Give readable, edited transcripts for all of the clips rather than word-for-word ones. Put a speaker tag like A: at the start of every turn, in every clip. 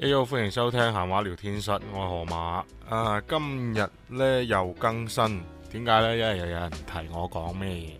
A: 你好，歡迎收聽閒話聊天室，我係河馬。今日呢又更新，點解呢？因為又有人提我講咩嘢。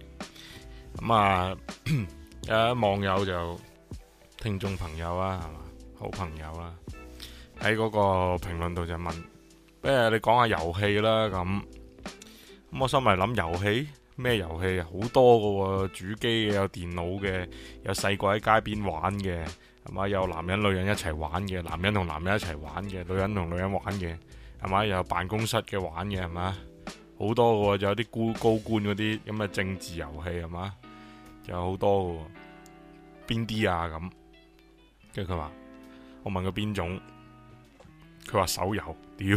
A: 有網友就聽眾朋友啦，係嘛，好朋友啦，喺嗰個評論度就問，不如你講下遊戲啦。咁我心嚟諗遊戲咩遊戲啊？好多噶喎，主機嘅，有電腦嘅，有細個喺街邊玩嘅。係嘛？有男人女人一齊玩嘅，男人同男人一齊玩嘅，女人同女人玩嘅，係嘛？又有辦公室嘅玩嘅，係嘛？好多嘅喎，仲有啲高官嗰啲咁嘅政治遊戲，係嘛？仲有好多嘅喎，邊啲啊咁？跟住佢話，我問佢邊種，佢話手遊，屌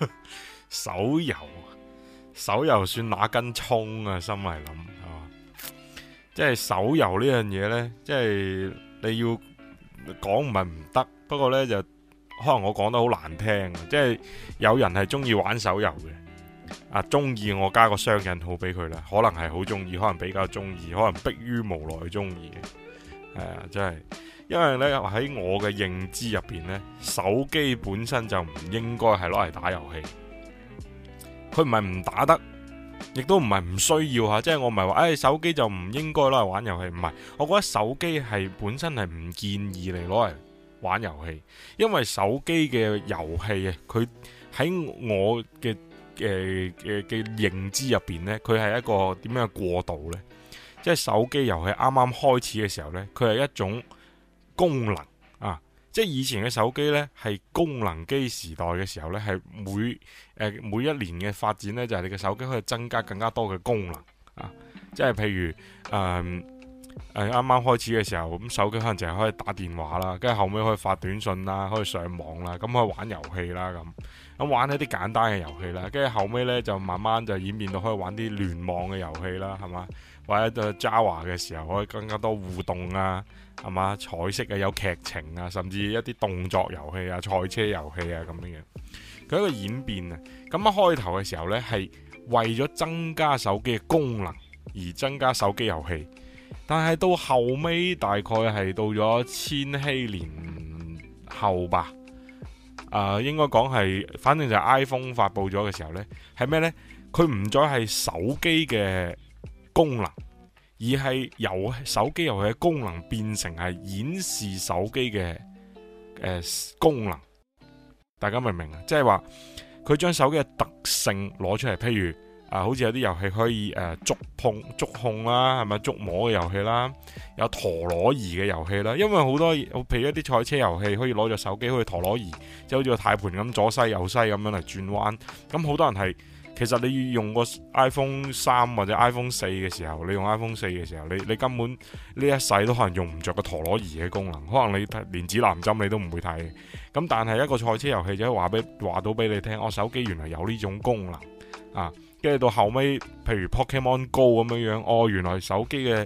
A: 手遊算哪根蔥啊？心嚟諗係嘛？即係手遊呢樣嘢呢，即係你要。講唔係唔得，不過呢，就可能我講得好難聽，即係有人係中意玩手遊嘅，中意我加個雙引號俾佢啦，可能係好中意，可能比較中意，可能迫於無奈中意嘅，真係，因為呢，喺我嘅認知入邊呢，手機本身就唔應該係攞嚟打遊戲，佢唔係唔打得。亦都唔係唔需要吓，即係我唔係話，手機就唔應該攞嚟玩遊戲，唔係，我覺得手機係本身係唔建議你攞嚟玩遊戲，因為手機嘅遊戲啊，佢喺我嘅認知入邊呢，佢係一個點樣嘅過渡呢？即係手機遊戲啱啱開始嘅時候呢，佢係一種功能啊。即係以前嘅手機呢，係功能機時代嘅時候呢，係每一年嘅發展呢，就係你嘅手機可以增加更加多嘅功能啊！即係譬如啱啱開始嘅時候，咁手機可能淨係可以打電話啦，跟住後尾可以發短信啦，可以上網啦，咁可以玩遊戲啦，咁玩一啲簡單嘅遊戲啦，跟住後尾呢，就慢慢就演變到可以玩啲聯網嘅遊戲啦，係嘛？或者 Java 嘅時候可以更加多互動啊，係嘛？彩色啊，有劇情啊，甚至一啲動作遊戲啊、賽車遊戲啊咁樣樣，佢一個演變啊。咁一開頭嘅時候呢，係為咗增加手機嘅功能而增加手機遊戲，但係到後尾大概係到咗千禧年後吧，應該講係，反正就係 iPhone 發佈咗嘅時候呢，係咩呢？佢唔再係手機嘅功能，而係由手機遊戲嘅功能變成係演示手機嘅功能，大家明唔明啊？即係話佢將手機嘅特性攞出嚟，譬如好似有啲遊戲可以觸控啦，係咪觸摸嘅遊戲啦，有陀螺儀嘅遊戲啦，因為好多譬如一啲賽車遊戲可以攞咗手機，好似陀螺儀，即係好似個軚盤咁左西右西咁樣嚟轉彎，咁好多人係。其實你要用個 iPhone 3或者 iPhone 4嘅時候，你用 iPhone 4嘅時候，你根本呢一世都可能用唔着個陀螺儀嘅功能，可能你連指南針你都唔會睇。咁但係一個賽車遊戲就話到俾你聽，我手機原來有呢種功能啊！跟住到後尾，譬如 Pokemon Go 咁樣樣，原來手機嘅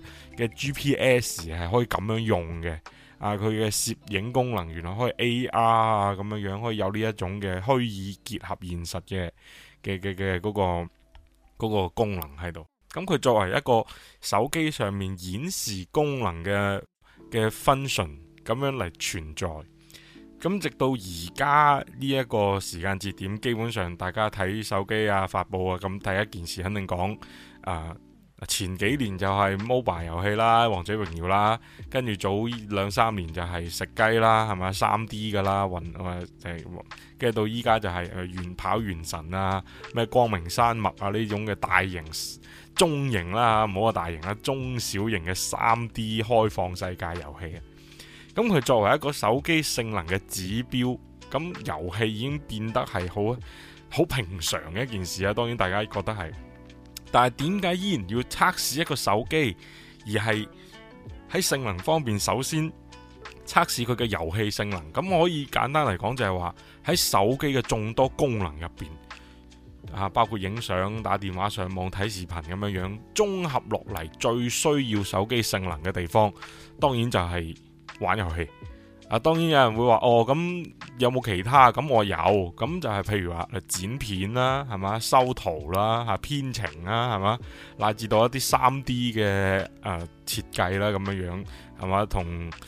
A: GPS 係可以咁樣用嘅。佢嘅攝影功能原來可以 AR 啊咁樣樣，可以有呢一種嘅虛擬結合現實嘅嗰個功能喺度。咁佢作為一個手機上面顯示功能嘅 function 咁樣嚟存在。咁直到而家呢一個時間節點，基本上大家睇手機啊發佈啊，咁第一件事肯定講前幾年就係 mobile 遊戲啦，王者榮耀啦，跟住早2-3年就係食雞啦，係咪 3D 噶啦，跟住到依家就係跑原神啊，咩光明山脈啊呢種嘅大型、中型啦，唔好話大型啦，中小型嘅 3D 開放世界遊戲啊。咁佢作為一個手機性能嘅指標，咁遊戲已經變得係好平常嘅一件事啊。當然大家覺得係。但係點解依然要測試一個手機，而係喺性能方面首先測試佢嘅遊戲性能？咁我可以簡單嚟講就係話喺手機嘅眾多功能入邊，包括影相、打電話、上網、睇視頻咁樣樣，綜合落嚟最需要手機性能嘅地方，當然就係玩遊戲。當然有人會話咁有冇其他？咁我有，咁就係譬如話剪片啦，係嘛，修圖啦，編程啦，係嘛，乃至到一啲3D 嘅設計啦，咁樣樣係嘛，同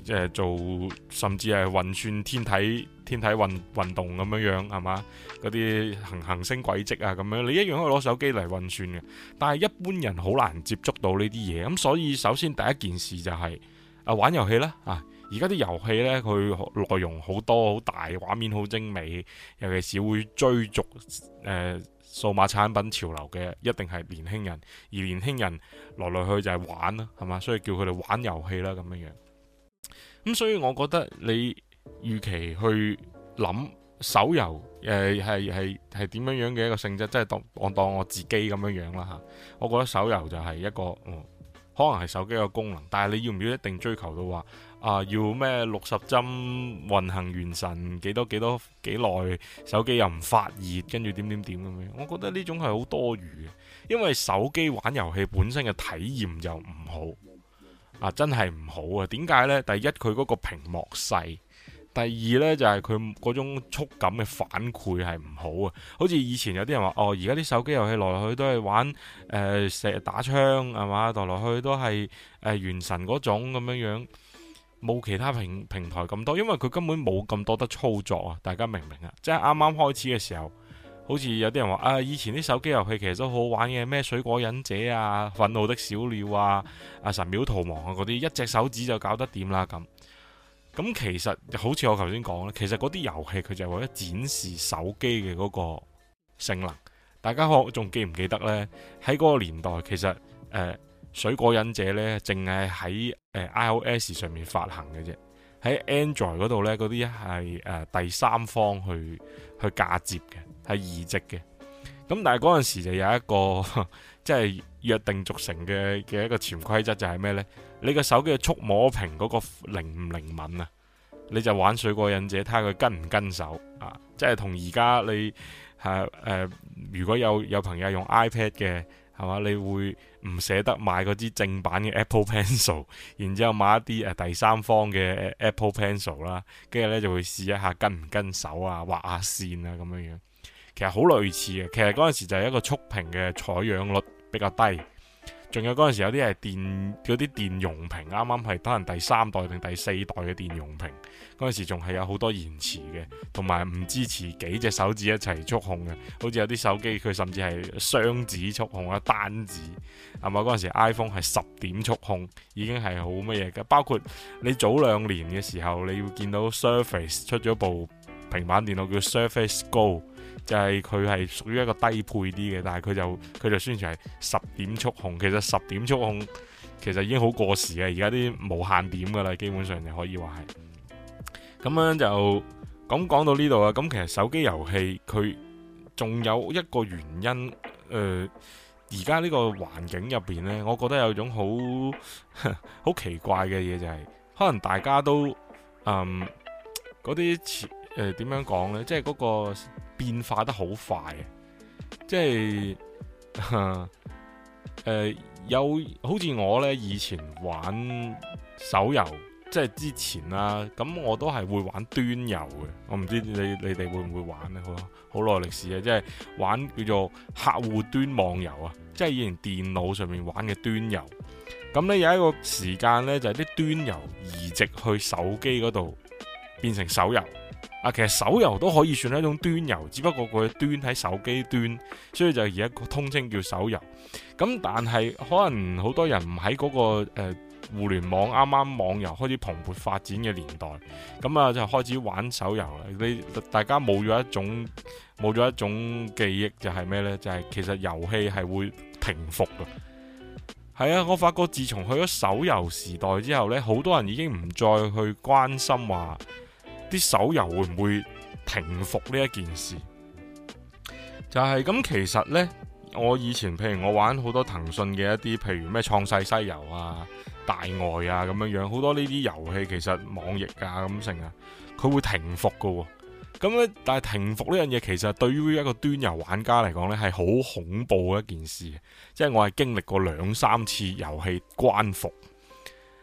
A: 做甚至係運算天體運動咁樣係嘛？嗰啲行星軌跡啊咁樣，你一樣可以攞手機嚟運算嘅。但係一般人好難接觸到呢啲嘢，咁所以首先第一件事就係玩遊戲啦啊！而家啲遊戲呢，佢內容好多好大，畫面好精美，尤其是會追逐數碼產品潮流嘅，一定係年輕人。而年輕人來來去就係玩啦，係嘛？所以叫佢哋玩遊戲啦咁樣。咁所以我覺得你預期去諗手遊係點樣樣嘅一個性質，即係當我自己咁樣啦嚇。我覺得手遊就係一個可能係手機嘅功能，但係你要唔要一定追求到話要咩60幀運行完成幾耐，手機又唔發熱，跟住點咁樣？我覺得呢種係好多餘嘅，因為手機玩遊戲本身嘅體驗就唔好真係唔好啊！點解呢？第一，佢嗰個屏幕細。第二呢，就係佢嗰種觸感嘅反饋係唔好啊，好似以前有啲人話而家啲手機遊戲來來去都係玩打槍係嘛，來來去都係原神嗰種咁樣，冇其他平台咁多，因為佢根本冇咁多得操作啊！大家明唔明啊？即係啱啱開始嘅時候，好似有啲人話以前啲手機遊戲其實都好玩嘅，咩水果忍者啊、憤怒的小鳥啊、神廟逃亡啊嗰啲，一隻手指就搞得掂啦咁。咁其實好似我頭先講咧，其實嗰啲遊戲佢就係為咗展示手機嘅嗰個性能。大家仲記唔記得呢？喺嗰個年代，其實水果忍者呢，淨係喺iOS 上面發行嘅啫。喺 Android 嗰度呢，嗰啲係第三方去嫁接嘅，係移植嘅。咁但係嗰陣時就有一個即係約定俗成嘅一個潛規則，就係咩呢？你個手機嘅觸摸屏嗰個靈唔靈敏啊？你就玩水果忍者，睇下佢跟唔跟手啊！即係同而家你如果有朋友用 iPad 嘅係嘛，你會唔捨得買嗰支正版嘅 Apple Pencil， 然之後買一啲第三方嘅 Apple Pencil 啦，跟住呢就會試一下跟唔跟手啊，畫下線啊咁樣。其實好類似嘅，其實嗰陣時就係一個觸屏嘅採樣率比較低。仲有嗰陣時有啲係嗰啲電容屏，啱啱係可能第3代定第4代嘅電容屏，嗰陣時仲係有好多延遲嘅，同埋唔支持幾隻手指一齊觸控嘅，好似有啲手機佢甚至係雙指觸控啊，單指係嘛？嗰陣時 iPhone 係10點觸控，已經係好乜嘢嘅。包括你早2年嘅時候，你要見到 Surface 出咗部平板電腦叫 Surface Go。就係佢係屬於一個低配啲嘅，但係佢就宣傳係10點觸控。其實10點觸控其實已經好過時嘅，而家啲無限點噶啦，基本上就可以話係。咁樣就講到呢度啦。咁其實手機遊戲佢仲有一個原因，而家呢個環境入邊呢，我覺得有種好奇怪嘅嘢，就係可能大家都嗰啲點樣講呢？即係嗰個變化得好快，即係有好似我呢以前玩手遊，即係之前啦，咁我都係會玩端遊嘅。我唔知你哋會唔會玩呢？好耐歷史啊！即係玩叫做客戶端網遊啊，即係以前電腦上面玩嘅端遊。咁呢有一個時間呢，就係啲端遊移植去手機嗰度變成手遊。其實手遊都可以算係一種端遊，只不過佢端喺手機端，所以就而家通稱叫手遊。咁但係可能好多人唔喺嗰個互聯網啱啱網遊開始蓬勃發展嘅年代，咁就開始玩手遊啦。大家冇咗一種記憶，就係咩呢？就係其實遊戲係會停服嘅。係啊，我發覺自從去咗手遊時代之後呢，好多人已經唔再去關心話啲手遊會唔會停服呢一件事。就係咁，其實呢，我以前譬如我玩好多騰訊嘅一啲，譬如咩創世西遊啊、大外啊咁樣，好多呢啲遊戲其實網易啊咁成啊，佢會停服噶。咁咧，但係停服呢樣嘢，其實對於一個端遊玩家嚟講呢，係好恐怖嘅一件事。即係我係經歷過2-3次遊戲關服。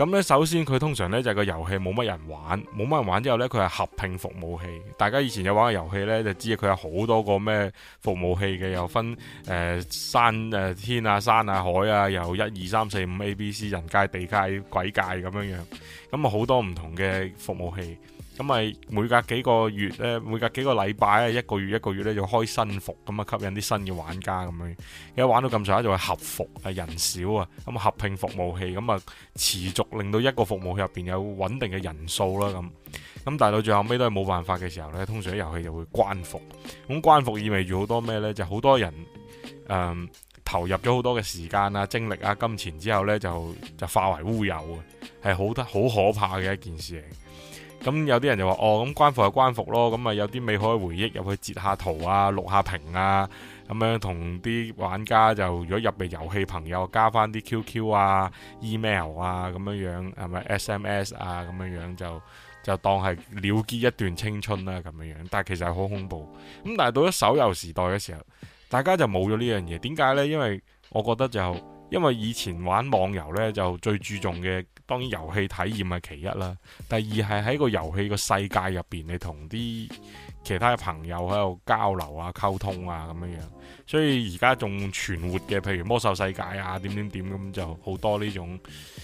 A: 咁呢，首先佢通常呢就係個遊戲冇乜人玩，冇乜人玩之後呢，佢係合併服務器。大家以前有玩嘅遊戲呢，就知佢有好多個咩服務器嘅，又分山天啊、山啊、海啊，又1、2、3、4、5 A、B、C 人界、地界、鬼界咁樣樣。咁啊好多唔同嘅服務器。咁咪每隔幾個月咧，每隔幾個禮拜啊，一個月咧就開新服，咁啊吸引啲新嘅玩家咁樣。而家玩到咁上下就係合服啊，人少啊，咁合併服務器，咁啊持續令到一個服務器入邊有穩定嘅人數啦咁。咁但係到最後尾都係冇辦法嘅時候呢，通常啲遊戲就會關服。咁關服意味住好多咩呢？就好多人投入咗好多嘅時間啊、精力啊、金錢之後呢，就化為烏有啊，係好可怕嘅一件事嚟。咁有啲人就話咁關服就關服咯，咁啊有啲美好嘅回憶入去截下圖啊、錄下屏啊，咁樣同啲玩家就如果入嚟遊戲朋友加翻啲 QQ 啊、email 啊咁樣係咪 SMS 啊咁樣就當係了結一段青春啦咁樣，但係其實係好恐怖。咁但係到咗手遊時代嘅時候，大家就冇咗呢樣嘢。點解呢？因為我覺得因為以前玩網遊呢，就最注重嘅當然遊戲體驗係其一啦，第二係喺個遊戲個世界入邊，你同啲其他嘅朋友喺度交流啊、溝通啊咁樣。所以而家仲存活嘅，譬如魔獸世界啊、點咁就好多呢種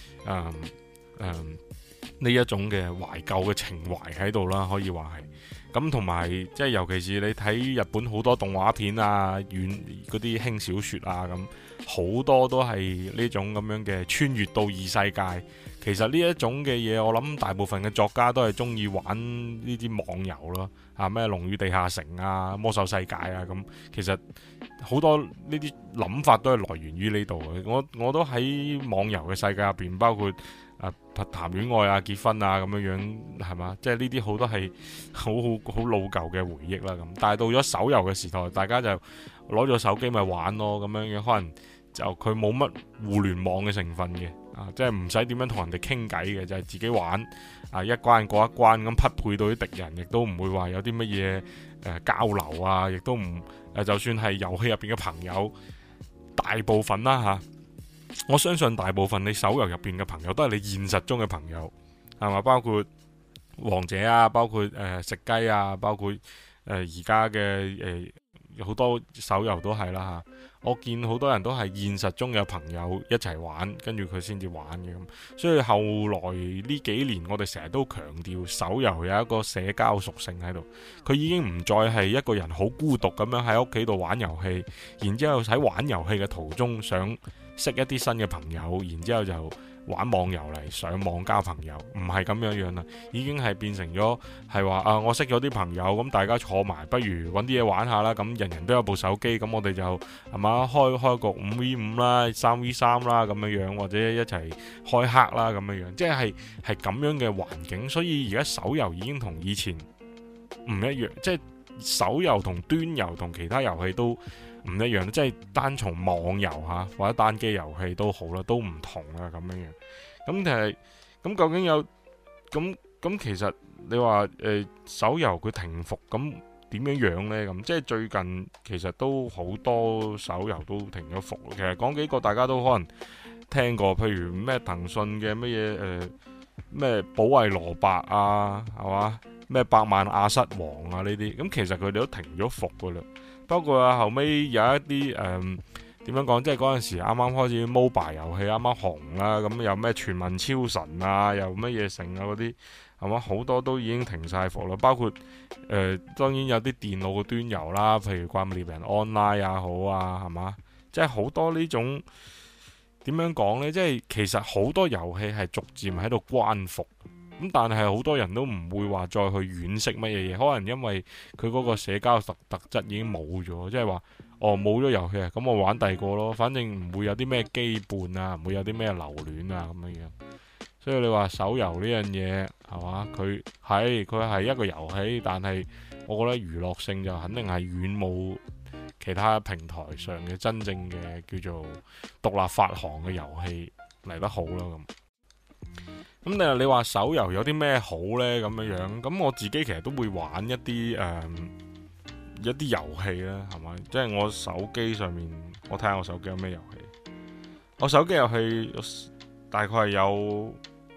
A: 呢一種嘅懷舊嘅情懷喺度啦，可以話係。咁同埋即係尤其是你睇日本好多動畫片啊、嗰啲輕小說啊咁，好多都係呢種咁樣嘅穿越到異世界。其實呢一種嘅嘢，我諗大部分嘅作家都係中意玩呢啲網遊咯，咩《龍與地下城》啊、《魔獸世界》啊咁。其實好多呢啲諗法都係來源於呢度嘅。我都喺網遊嘅世界入邊，包括談戀愛啊、結婚啊咁樣係嘛？即係呢啲好多係好老舊嘅回憶啦咁。但係到咗手遊嘅時代，大家就攞咗手機咪玩咯咁樣，可能就佢冇乜互聯網嘅成分嘅，即係唔使點樣同人哋傾偈嘅，就係自己玩一關過一關咁匹配到啲敵人，亦都唔會話有啲乜嘢交流啊，亦都唔就算係遊戲入邊嘅朋友，大部分啦我相信大部分你手遊入邊嘅朋友都係你現實中嘅朋友，係嘛？包括王者啊，包括食雞啊，包括而家嘅好多手遊都係啦吓。我見好多人都係現實中有朋友一齊玩，跟住佢先至玩嘅咁。所以後來呢幾年，我哋成日都強調手遊有一個社交屬性喺度，佢已經唔再係一個人好孤獨咁樣喺屋企度玩遊戲，然之後喺玩遊戲嘅途中想識一啲新嘅朋友，然之後就玩網遊嚟上網交朋友，唔係咁樣啦，已經係變成咗係話我識咗啲朋友，咁大家坐埋，不如揾啲嘢玩下啦。咁人人都有部手機，咁我哋就係嘛開個5v5啦、3v3啦咁樣，或者一齊開黑啦咁樣，即係咁樣嘅環境。所以而家手遊已經同以前唔一樣，即係手遊同端遊同其他遊戲都唔一樣，即係單從網遊或者單機遊戲都好啦，都唔同啦咁樣。咁其實咁究竟有咁其實你話手遊佢停服咁點樣呢？咁即係最近其實都好多手遊都停咗服。其實講幾個大家都可能聽過，譬如咩騰訊嘅乜嘢咩保衛蘿蔔啊，係嘛？咩百萬亞瑟王啊呢啲，咁其實佢哋都停咗服噶啦。包括後尾有一啲點樣講，即係嗰陣時啱啱開始 mobile 遊戲啱啱紅啦，咁有咩全民超神啊，又乜嘢成啊嗰啲，係嘛？好多都已經停晒服啦。包括當然有啲電腦嘅端遊啦，譬如怪物獵人 online 也好啊，係嘛？即係好多呢種點樣講呢？即係其實好多遊戲係逐漸喺度關服。咁但係好多人都唔會話再去惋惜乜嘢嘢，可能因為佢嗰個社交特質已經冇咗，即係話冇咗遊戲啊，咁我玩第二個咯，反正唔會有啲咩羈絆啊，唔會有啲咩留戀啊咁樣。所以你話手遊呢樣嘢係嘛？佢係一個遊戲，但係我覺得娛樂性就肯定係遠冇其他平台上嘅真正嘅叫做獨立發行嘅遊戲嚟得好啦咁。咁但係你話手遊有啲咩好呢？咁樣，咁我自己其實都會玩一啲遊戲啦，係咪？即係我手機上面，我睇下我手機有咩遊戲。我手機遊戲大概係有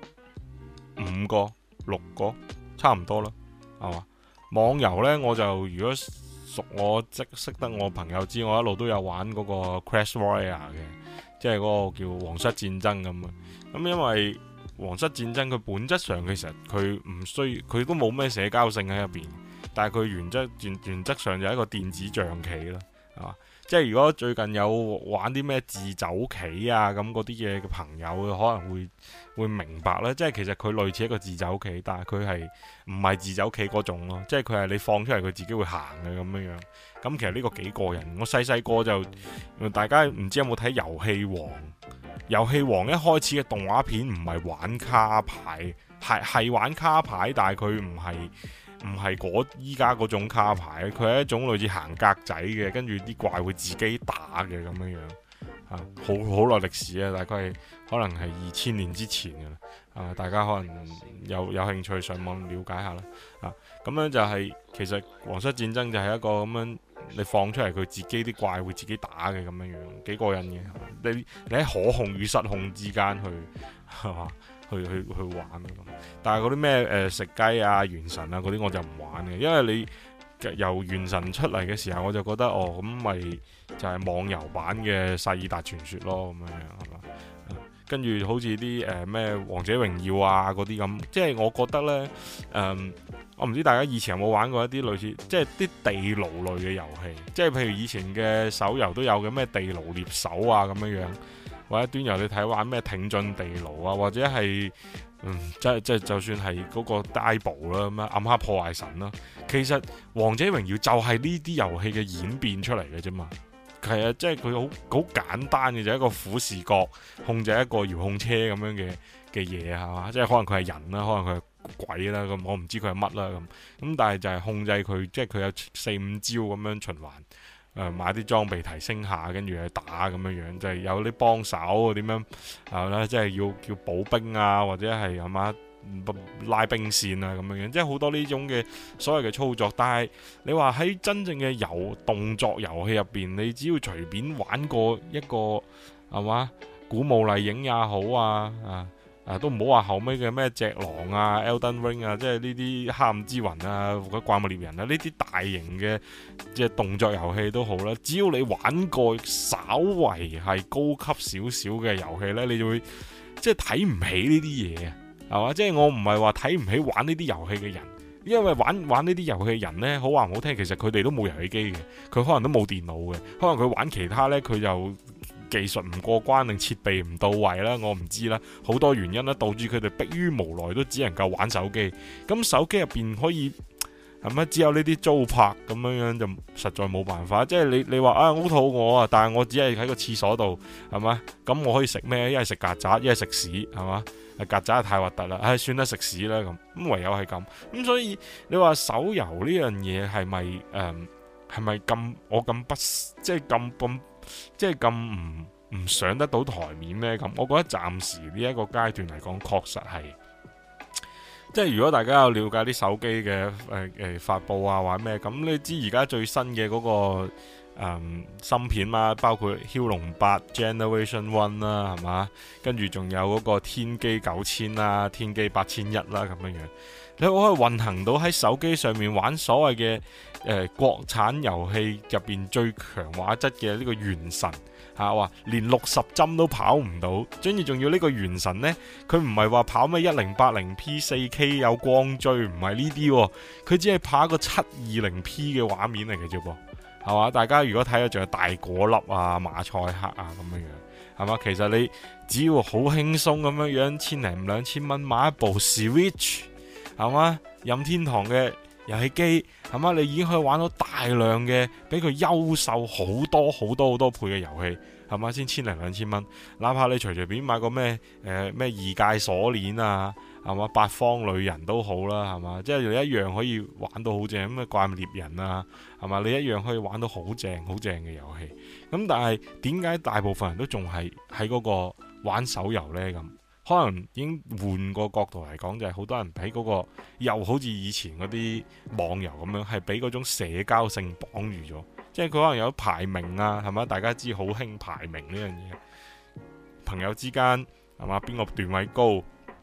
A: 5個、6個，差唔多啦，係嘛？網遊呢，我就如果熟我識得我朋友知，我一路都有玩嗰個 Clash Royale 嘅，即係嗰個叫皇室戰爭咁啊。咁因為皇室戰爭佢本質上其實佢唔需佢都冇咩社交性喺入邊，但係佢原則上就係一個電子象棋啦，係嘛？即係如果最近有玩啲咩自走棋啊咁嗰啲嘢嘅朋友，可能會明白啦。即係其實佢類似一個自走棋，但係佢係唔係自走棋嗰種咯。即係佢係你放出嚟佢自己會行嘅咁樣樣。咁其實呢個幾過癮。我細個就大家唔知有冇睇遊戲王？遊戲王一開始嘅動畫片唔係玩卡牌，係玩卡牌，但係佢唔係依家嗰種卡牌，佢係一種類似行格仔嘅，跟住啲怪會自己打嘅咁樣樣，好耐歷史啊，大概係可能係2000年之前嘅啦，大家可能有興趣上網了解下啦，咁樣就係其實皇室戰爭就係一個咁樣，你放出嚟佢自己啲怪會自己打嘅咁樣樣，幾過癮嘅，你喺可控與失控之間係嘛？去玩咁，但係嗰啲咩食雞啊、原神啊嗰啲我就唔玩嘅，因為你由原神出嚟嘅時候，我就覺得咁咪就係網遊版嘅薩爾達傳說咯，咁樣係嘛？跟住好似啲咩王者榮耀啊嗰啲咁，即係我覺得呢，我唔知大家以前有冇玩過一啲類似即係啲地牢類嘅遊戲，即係譬如以前嘅手遊都有嘅咩地牢獵手啊咁樣樣。或者端遊你睇玩咩挺進地牢啊，或者係即係就算係嗰個 Diablo 啦，咁暗黑破壞神啦，其實王者榮耀就係呢啲遊戲嘅演變出嚟嘅啫嘛。係啊，即係佢好簡單嘅，就係一個俯視角控制一個遙控車咁樣嘅嘢係嘛，即係可能佢係人啦，可能佢係鬼啦，咁我唔知佢係乜啦咁但係就係控制佢，即係佢有4-5招咁樣循環。買啲裝備提升下，跟住去打咁樣樣，就係有啲幫手點樣係啦，即係要叫補兵啊，或者係嘛拉兵線啊咁樣樣，即係好多呢種嘅所謂嘅操作。但係你話喺真正嘅動作遊戲入邊，你只要隨便玩過一個係嘛古墓麗影也好都唔好話後尾嘅咩隻狼啊、Elden Ring 啊，即係呢啲黑暗之魂啊、或者怪物獵人啊，呢啲大型嘅即係動作遊戲都好啦。只要你玩過稍為係高級少少嘅遊戲呢，你就會即係睇唔起呢啲嘢啊，係嘛？即係我唔係話睇唔起玩呢啲遊戲嘅人，因為玩呢啲遊戲嘅人呢，好話唔好聽，其實佢哋都冇遊戲機嘅，佢可能都冇電腦嘅，可能佢玩其他呢，佢就技術唔過關定設備唔到位啦，我唔知啦，好多原因啦，導致佢哋迫於無奈都只能夠玩手機。咁手機入邊可以係咪只有呢啲租拍咁樣就實在冇辦法。即係你話好肚餓啊，但係我只係喺個廁所度係嘛，咁我可以食咩？一係食曱甴，一係食屎係嘛？曱甴太核突啦，算啦，食屎啦咁唯有係咁。所以你話手遊呢樣嘢係咪咁我咁不即係咁即係咁唔上得到台面呢？咁我覺得暫時呢一個階段嚟講，確實係，即係如果大家有了解啲手機嘅發布啊，或者咩咁，你知而家最新嘅嗰個芯片啦，包括驍龍8 Generation 1啦，係嘛？跟住仲有嗰個天璣9000啦、天璣8100啦咁樣樣，你可以運行到喺手機上面玩所謂嘅國產遊戲入邊最強畫質嘅呢個原神話連60幀都跑唔到，跟住仲要呢個原神呢，佢唔係話跑咩1080p 4K 有光追，唔係呢啲，佢只係跑一個720p 嘅畫面嚟嘅啫噃，係嘛？大家如果睇咗仲有大果粒啊、馬賽克啊咁樣樣，係嘛？其實你只要好輕鬆咁樣樣，1000-2000蚊買一部 Switch， 係嘛？任天堂嘅遊戲機，係嘛？你已經可以玩到大量嘅比佢優秀好多倍嘅遊戲，係嘛？先1000-2000蚊，哪怕你隨便買個咩異界鎖鏈啊，係嘛？八方旅人都好啦，係嘛？即係你一樣可以玩到好正咁嘅怪物獵人啊，係嘛？你一樣可以玩到好正嘅遊戲。咁但係點解大部分人都仲係喺嗰個玩手遊呢？咁可能已經換個角度嚟講，就係好多人喺嗰個又好似以前嗰啲網遊咁樣，係俾嗰種社交性綁住咗。即係佢可能有排名啊，係嘛？大家知好興排名呢樣嘢，朋友之間係嘛？邊個段位高，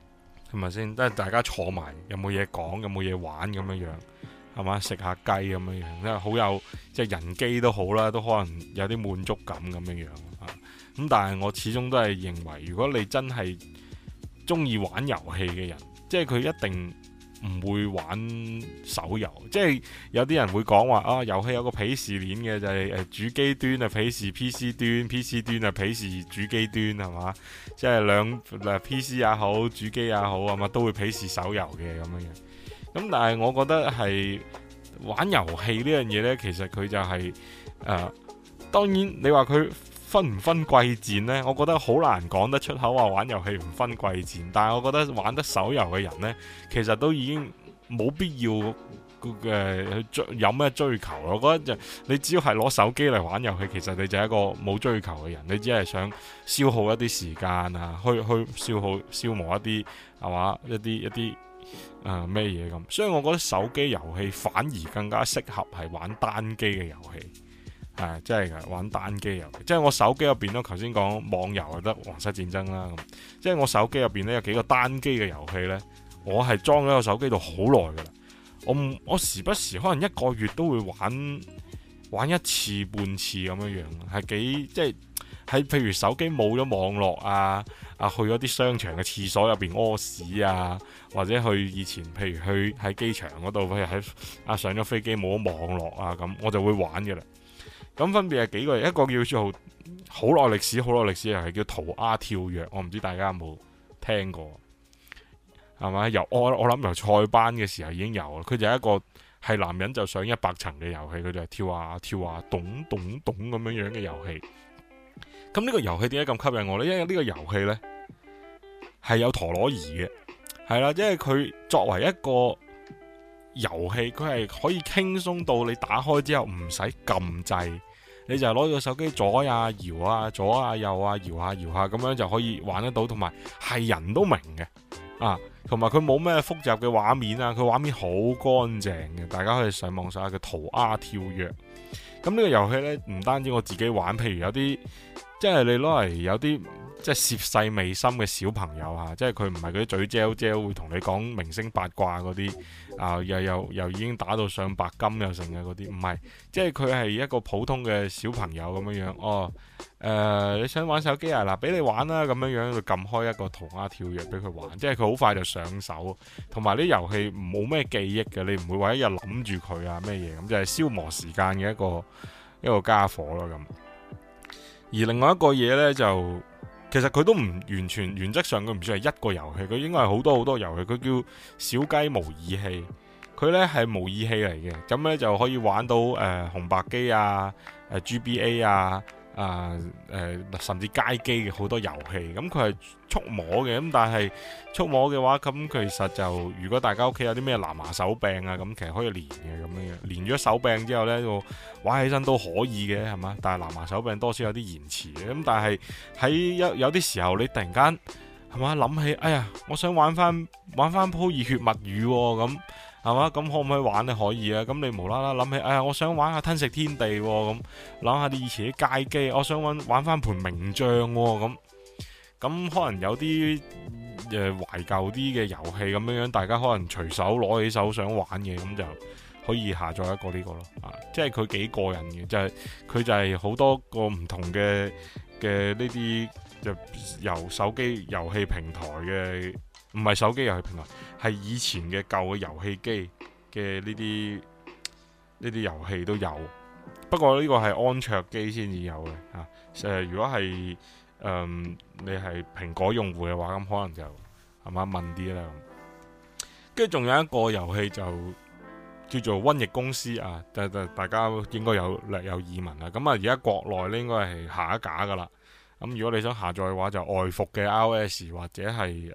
A: 係咪先？都係大家坐埋，有冇嘢講，有冇嘢玩咁樣樣，係嘛？食下雞咁樣樣，即係好有即係人機都好啦，都可能有啲滿足感咁樣樣啊。咁但係我始終都係認為，如果你真係中意玩遊戲嘅人，即係佢一定唔會玩手遊。即係有啲人會講話啊，遊戲有個鄙視鏈嘅，就係主機端啊鄙視 PC 端，PC 端啊鄙視主機端，係嘛？即係兩 PC 也好，主機也好啊嘛，都會鄙視手遊嘅咁樣樣。咁但係我覺得係玩遊戲呢樣嘢呢，其實佢就係當然你話佢分唔分貴賤呢？我覺得好難講得出口話玩遊戲唔分貴賤。但係我覺得玩得手遊嘅人呢，其實都已經冇必要有咩追求。我覺得你只要係攞手機嚟玩遊戲，其實你就係一個冇追求嘅人。你只係想消耗一啲時間啊，去消磨一啲係嘛一啲咩嘢咁。所以我覺得手機遊戲反而更加適合係玩單機嘅遊戲。係，真係㗎，玩單機遊戲，即係我手機入邊咯。頭先講網遊就得皇室戰爭啦，咁即係我手機入邊咧有幾個單機嘅遊戲呢，我係裝咗個手機度好耐噶啦。我時不時可能一個月都會玩一次半次咁樣樣，係幾即係喺譬如手機冇咗網絡啊，去咗啲商場嘅廁所入邊屙屎啊，或者去以前譬如去喺機場嗰度，譬如喺上咗飛機冇咗網絡啊，咁我就會玩嘅啦。咁分別係幾個，一個叫做好耐歷史又係叫塗鴉跳躍，我唔知大家有冇聽過，係咪？我諗由塞班嘅時候已經有啦。佢就係一個係男人就上100層嘅遊戲，佢就係跳下咚咚咚咁樣樣嘅遊戲。咁呢個遊戲點解咁吸引我呢？因為呢個遊戲呢係有陀螺儀嘅，係啦，因為佢作為一個遊戲，佢係可以輕鬆到你打開之後唔使撳掣。你就攞個手機左呀搖啊，左啊右啊搖下搖下咁樣就可以玩得到，同埋係人都明嘅啊，同埋佢冇咩複雜嘅畫面啊，佢畫面好乾淨嘅，大家可以上網搜下佢塗鴉跳躍。咁呢個遊戲呢，唔單止我自己玩，譬如有啲即係你攞嚟有啲即係涉世未深嘅小朋友啊，即係佢唔係嗰啲嘴嚼嚼會同你講明星八卦嗰啲啊，又已經打到上白金又成嘅嗰啲，唔係，即係佢係一個普通嘅小朋友咁樣樣。哦，你想玩手機啊？嗱，俾你玩啦，咁樣樣就撳開一個塗鴉跳躍俾佢玩，即係佢好快就上手，同埋啲遊戲冇咩記憶嘅，你唔會話一日諗住佢啊咩嘢咁，就係消磨時間嘅一個家伙咯咁。而另外一個嘢呢，就其實佢都唔完全，原則上佢唔算係一個遊戲，佢應該係好多好多遊戲。佢叫小雞模擬器，佢呢係模擬器嚟嘅，咁呢就可以玩到紅白機啊、GBA 啊、甚至街機嘅好多遊戲。咁佢係觸摸嘅，咁但係觸摸嘅話，咁其實就如果大家屋企有啲咩藍牙手柄啊，咁其實可以連嘅咁樣樣。連咗手柄之後呢，個玩起身都可以嘅，係嘛？但係藍牙手柄多少有啲延遲嘅。咁但係喺有啲時候，你突然間係嘛諗起，哎呀，我想玩翻鋪熱血物語咁。係嘛？咁可唔可以玩呢？可以啊！咁你無啦啦諗起，哎呀，我想玩下吞食天地咁，諗下啲以前啲街機，我想玩翻盤名將咁。咁可能有啲懷舊啲嘅遊戲咁樣樣，大家可能隨手攞起手想玩嘅，咁就可以下載一個呢個咯。啊，即係佢幾過癮嘅，就係佢就係好多個唔同嘅呢啲就由手機遊戲平台嘅。唔係手機遊戲平台，係以前嘅舊嘅遊戲機嘅呢啲遊戲都有。不過呢個係安卓機先至有嘅。如果係你係蘋果用戶嘅話，咁可能就係嘛問啲啦。跟住仲有一個遊戲就叫做瘟疫公司啊，大家應該略有耳聞啦。咁啊，而家國內咧應該係下一架噶啦。咁如果你想下載嘅話，就外服嘅 iOS 或者係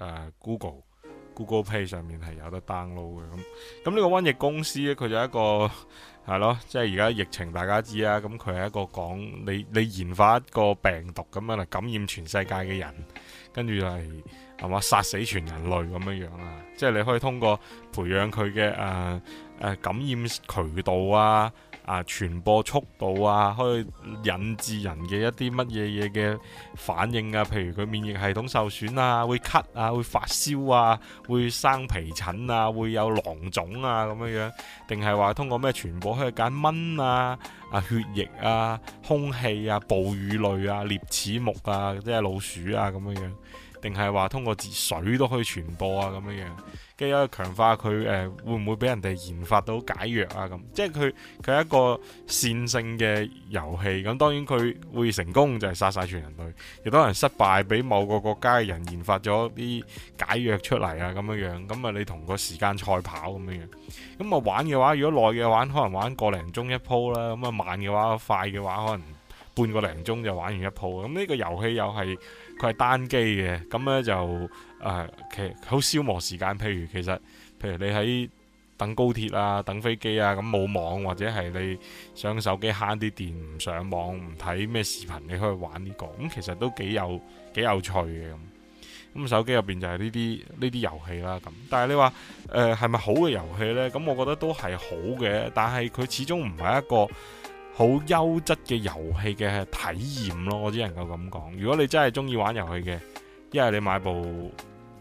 A: Google Play 上面係有得 download 嘅。咁呢個瘟疫公司咧，佢就一個係咯，即係而家疫情大家知啊。咁佢係一個講你研發一個病毒咁樣嚟感染全世界嘅人，跟住係嘛殺死全人類咁樣樣啊。即係你可以通過培養佢嘅感染渠道啊， 傳播速度啊，可以引致人嘅一啲乜嘢嘢嘅反應啊，譬如佢免疫系統受損啊，會咳啊，會發燒啊，會生皮疹啊，會有囊腫啊咁樣樣，定係話通過咩傳播可以揀蚊啊、血液啊、空氣啊、哺乳類啊、齧齒目啊，即係老鼠啊咁樣樣，定係話通過水都可以傳播啊咁樣樣。跟住強化佢會唔會俾人哋研發到解藥啊咁，即係佢係一個線性嘅遊戲。咁當然佢會成功就係殺晒全人類，亦都有人失敗，俾某個國家嘅人研發咗啲解藥出嚟啊咁樣樣。咁啊你同個時間賽跑咁樣樣。咁啊玩嘅話，如果耐嘅玩可能玩個零鐘一鋪啦。咁啊慢嘅話，快嘅話可能半個零鐘就玩完一鋪。咁呢個遊戲又係佢係單機嘅，咁呢就其實好消磨時間。譬如你喺等高鐵啊、等飛機啊，咁冇網或者係你上手機慳啲電，唔上網唔睇咩視頻，你可以玩呢個。咁其實都幾有趣嘅。咁手機入邊就係呢啲遊戲啦。咁但係你話係咪好嘅遊戲呢？咁我覺得都係好嘅，但係佢始終唔係一個好優質嘅遊戲嘅體驗咯。我只能夠咁講。如果你真係中意玩遊戲嘅，一係你買部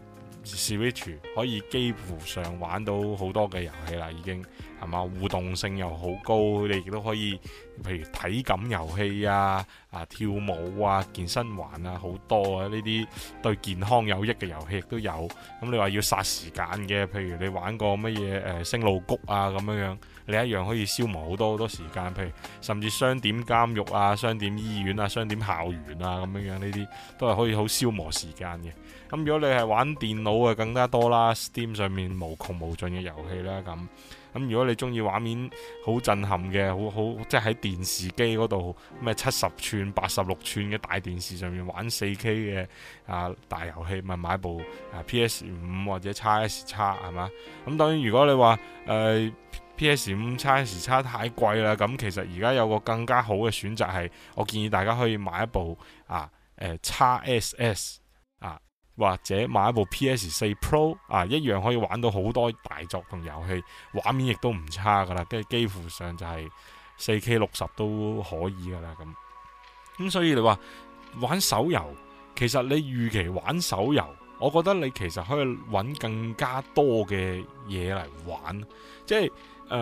A: Switch 可以幾乎上玩到好多嘅遊戲啦，已經係嘛，互動性又好高，你亦都可以譬如體感遊戲啊、跳舞啊、健身環啊，好多啊，呢啲對健康有益嘅遊戲亦都有。咁你話要殺時間嘅，譬如你玩過乜嘢星露谷啊咁樣樣，你一樣可以消磨好多時間。譬如甚至商店監獄啊、商店醫院啊、商店校園啊咁樣樣，呢啲都係可以好消磨時間嘅。咁如果你係玩電腦嘅更加多啦 ，Steam 上面無窮無盡嘅遊戲啦。咁如果你中意畫面好震撼嘅，好即係喺電視機嗰度咩70寸、86寸嘅大電視上面玩 4K 嘅大遊戲，咪買部PS5 或者 XS 係嘛？咁當然如果你話PS5 XS 太貴啦，咁其實而家有個更加好嘅選擇係，我建議大家可以買一部XSS。或者買一部 PS4 Pro 一樣可以玩到好多大作同遊戲，畫面亦都唔差噶啦，跟住幾乎上就係 4K 60都可以噶啦咁。所以你話玩手遊，其實你預期玩手遊，我覺得你其實可以揾更加多嘅嘢嚟玩，即係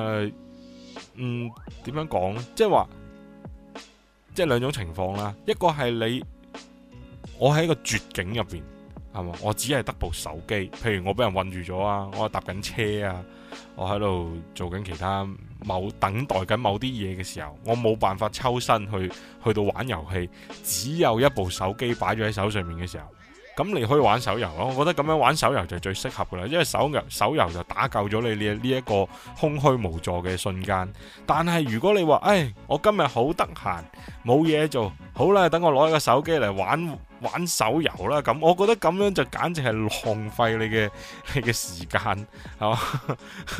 A: 點樣講呢？即係話即係兩種情況啦，一個係我喺一個絕境入邊。係嘛？我只係得部手機，譬如我俾人困住咗啊，我搭緊車啊，我喺度做緊其他等待緊某啲嘢嘅時候，我冇辦法抽身去到玩遊戲，只有一部手機擺咗喺手上面嘅時候，咁你可以玩手遊咯。我覺得咁樣玩手遊就最適合噶啦，因為手遊就打救咗你呢一個空虛無助嘅瞬間。但係如果你話，我今日好得閒，冇嘢做，好啦，等我攞一個手機嚟玩手遊啦，咁我覺得咁樣就簡直係浪費你嘅時間，係嘛？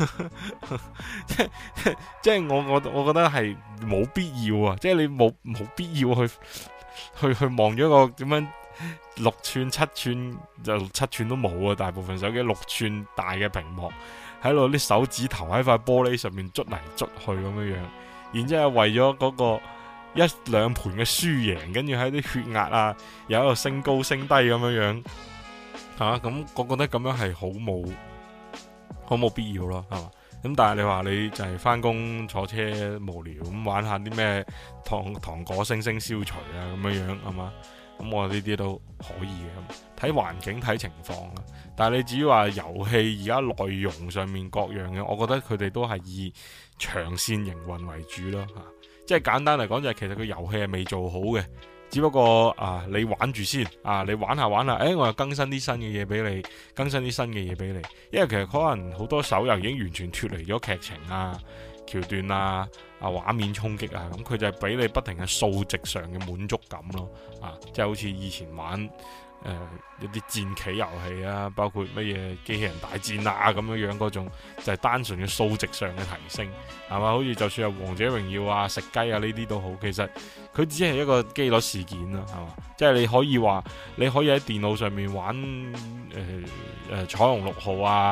A: 即係我覺得係冇必要啊！即係你冇必要去望咗個點樣6寸7寸就7寸都冇啊！大部分手機6寸大嘅屏幕，喺度啲手指頭喺塊玻璃上面捽嚟捽去咁樣樣，然之後為咗嗰個1-2盤嘅輸贏，跟住喺啲血壓又喺度升高升低咁樣樣，咁我覺得咁樣係好冇必要咯，係嘛？咁但係你話你就係翻工坐車無聊咁玩下啲咩糖果星消除咁樣樣，係嘛？咁我呢啲都可以嘅，睇環境睇情況啦。但係你至於話遊戲而家內容上面各樣嘅，我覺得佢哋都係以長線營運為主咯，即係簡單嚟講就係其實個遊戲係未做好嘅，只不過你玩住先，你玩下，我又更新啲新嘅嘢俾你，因為其實可能好多手遊已經完全脫離咗劇情橋段畫面衝擊咁佢就係俾你不停嘅數值上嘅滿足感咯，即係好似以前玩一啲戰棋遊戲包括乜嘢機器人大戰咁樣樣嗰種，就係單純嘅數值上嘅提升，係嘛？好似就算係王者榮耀食雞呢啲都好，其實佢只係一個機率事件啦，係嘛？即係你可以喺電腦上面玩彩虹6號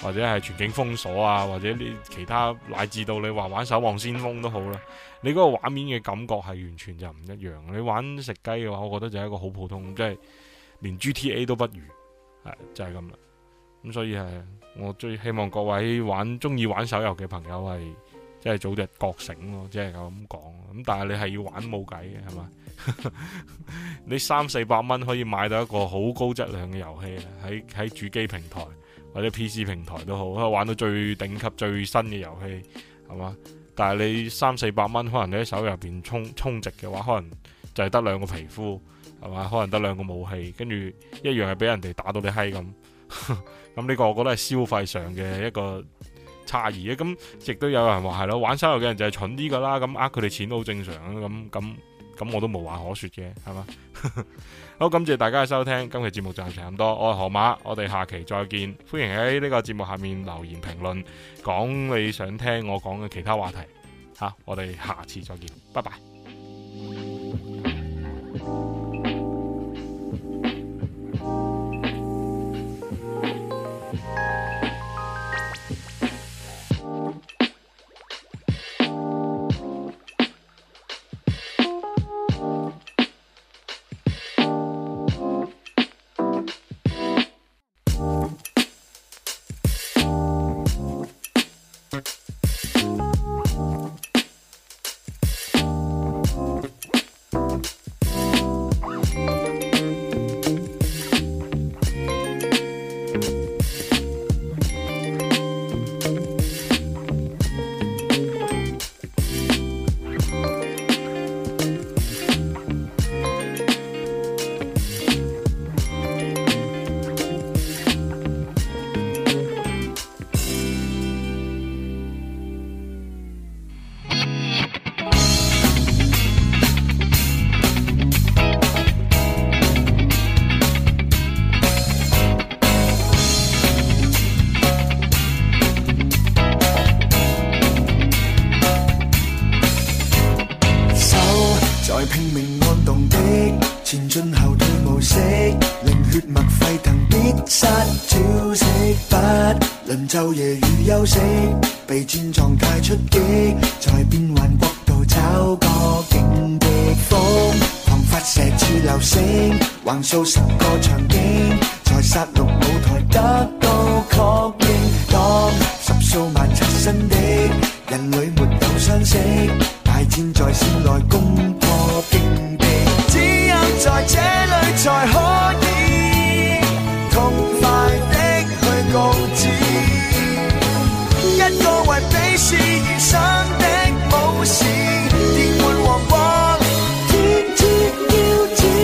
A: 或者係全境封鎖啊，或者你其他乃至到你話玩守望先鋒都好啦，你嗰個畫面嘅感覺係完全就唔一樣。你玩食雞嘅話，我覺得就係一個好普通，即係連 GTA 都不如，係就係咁啦。咁所以係我最希望各位中意玩手遊嘅朋友係即係早日覺醒咯，即係咁講。咁但係你係要玩冇計嘅係嘛？你300-400蚊可以買到一個好高質量嘅遊戲，喺主機平台或者 PC 平台都好，可以玩到最頂級最新嘅遊戲係嘛？但係你300-400蚊，可能你喺手遊入邊充值嘅話，可能就係得2個皮膚係嘛？可能得2個武器，跟住一樣係俾人哋打到你閪咁。咁呢個我覺得係消費上嘅一個差異啊。咁亦都有人話係咯，玩手遊嘅人就係蠢啲噶啦，咁佢哋錢都好正常啊。咁我都無話可說嘅，係嘛？好，感謝大家嘅收聽，今期節目就係咁多。我係河馬，我哋下期再見。歡迎喺呢個節目下面留言評論，講你想聽我講嘅其他話題。我哋下次再見，拜拜。
B: 拼命按動的前進後退模式，令血脈沸騰必殺招式，不論晝夜與休息，備戰狀態出擊，在變幻國度找個勁敵風，狂發射似流星，橫掃10個場景，在殺戮舞台得到確認。當10數萬刷新的人類沒有相識，大戰在線內攻破勁敵，只有在這裡才可以痛快的去告知，一個為比試而生的武士，電玩王國天之驕子。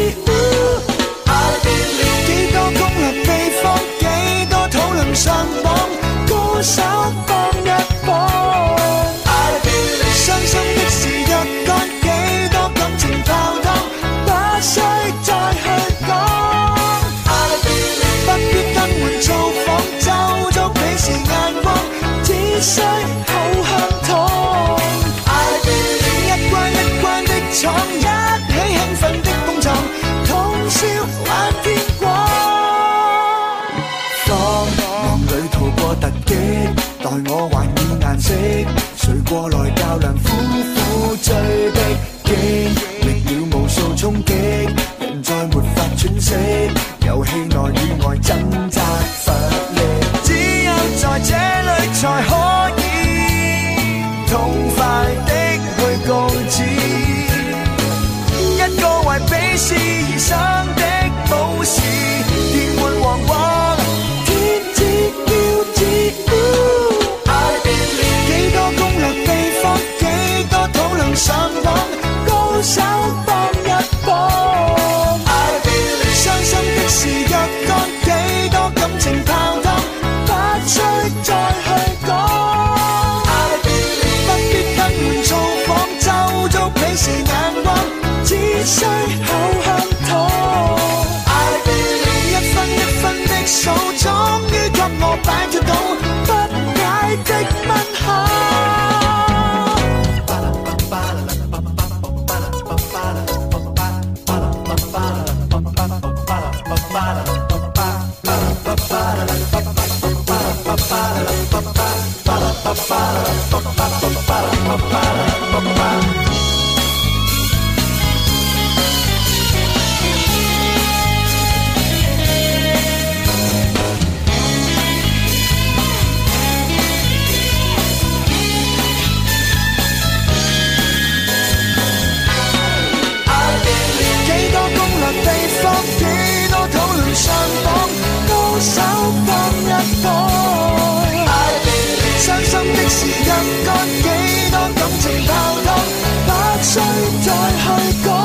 B: 幾多攻略秘方，幾多討論上榜，歌手幫一幫。傷心的事若乾，幾多感情泡湯，不需再去講。不必更換造訪，就足鄙視眼光，只需口香糖。一關一關的闖，一起興奮的碰撞，通宵玩天光。放夢裏逃過突擊，待我還以顏色，誰過來較量苦苦追逼，經歷了無數衝擊，人再沒法喘息，遊戲內與外掙扎乏力，只有在這裡才可以痛快的去告知，一個為比試而生的武士，電玩王國天之驕子。幾多攻略秘方，幾多討論上網，高手幫一幫。傷心的事若乾，幾多感情泡湯，不需再去講。不必更換造訪，就足鄙視眼光，只需口香糖。 躲。傷心的時間該幾多感情泡湯，不需再去講。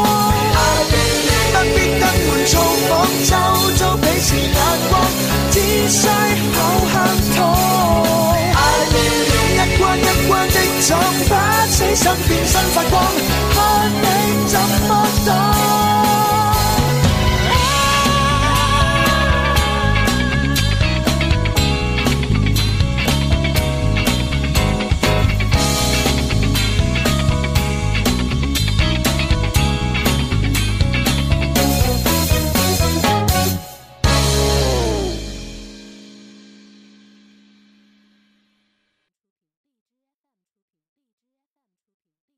B: 不必登門造訪，周遭彼此眼光，只需口香糖。一關一關的撞，不死身變身發光，看你怎麼